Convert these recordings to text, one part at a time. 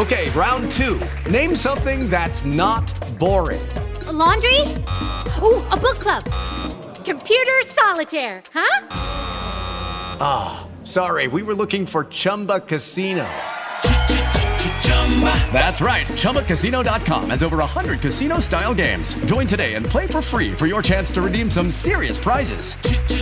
Okay, round 2. Name something that's not boring. A laundry? Ooh, a book club. Computer solitaire, huh? Ah, sorry, we were looking for Chumba Casino. That's right, ChumbaCasino.com has over 100 casino-style games. Join today and play for free for your chance to redeem some serious prizes.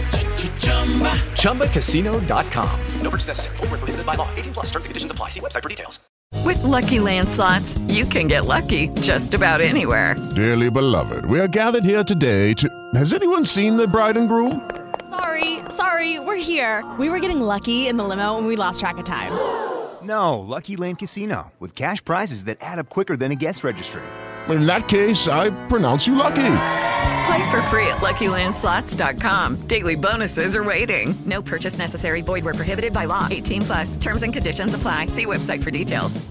ChumbaCasino.com. No purchase necessary. Void where prohibited by law. 18+ terms and conditions apply. See website for details. With Lucky Land Slots, you can get lucky just about anywhere. Dearly beloved, we are gathered here today to... Has anyone seen the bride and groom? Sorry, we're here. We were getting lucky in the limo and we lost track of time. No, Lucky Land Casino, with cash prizes that add up quicker than a guest registry. In that case, I pronounce you lucky. Play for free at LuckyLandSlots.com. Daily bonuses are waiting. No purchase necessary. Void where prohibited by law. 18+. Terms and conditions apply. See website for details.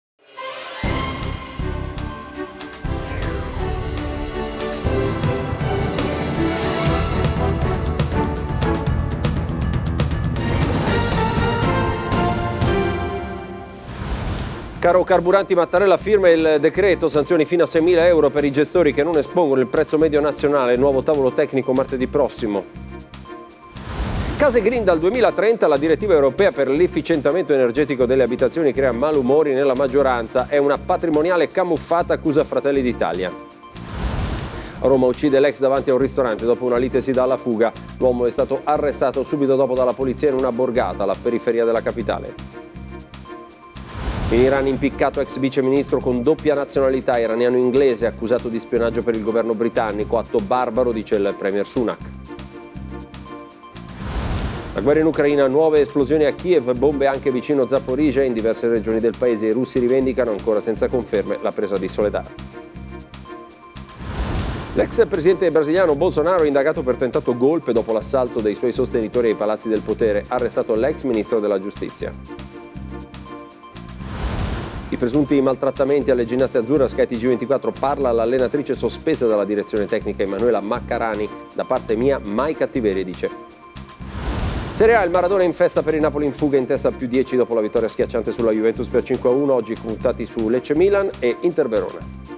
Caro Carburanti Mattarella, firma il decreto, sanzioni fino a 6.000 euro per i gestori che non espongono il prezzo medio nazionale, nuovo tavolo tecnico martedì prossimo. Case green dal 2030, la direttiva europea per l'efficientamento energetico delle abitazioni crea malumori nella maggioranza, è una patrimoniale camuffata, accusa Fratelli d'Italia. A Roma uccide l'ex davanti a un ristorante, dopo una lite si dà alla fuga, l'uomo è stato arrestato subito dopo dalla polizia in una borgata alla periferia della capitale. In Iran impiccato ex viceministro con doppia nazionalità iraniano-inglese accusato di spionaggio per il governo britannico, atto barbaro, dice il premier Sunak. La guerra in Ucraina, nuove esplosioni a Kiev, bombe anche vicino Zaporizhzhia, in diverse regioni del paese i russi rivendicano ancora senza conferme la presa di Soledar. L'ex presidente brasiliano Bolsonaro indagato per tentato golpe dopo l'assalto dei suoi sostenitori ai palazzi del potere, arrestato l'ex ministro della giustizia. I presunti maltrattamenti alle ginnaste azzurre a Sky TG24, parla l'allenatrice sospesa dalla direzione tecnica Emanuela Maccarani, da parte mia mai cattiverie, dice. Serie A, il Maradona in festa per il Napoli in fuga, in testa più 10 dopo la vittoria schiacciante sulla Juventus per 5-1, oggi puntati su Lecce Milan e Inter Verona.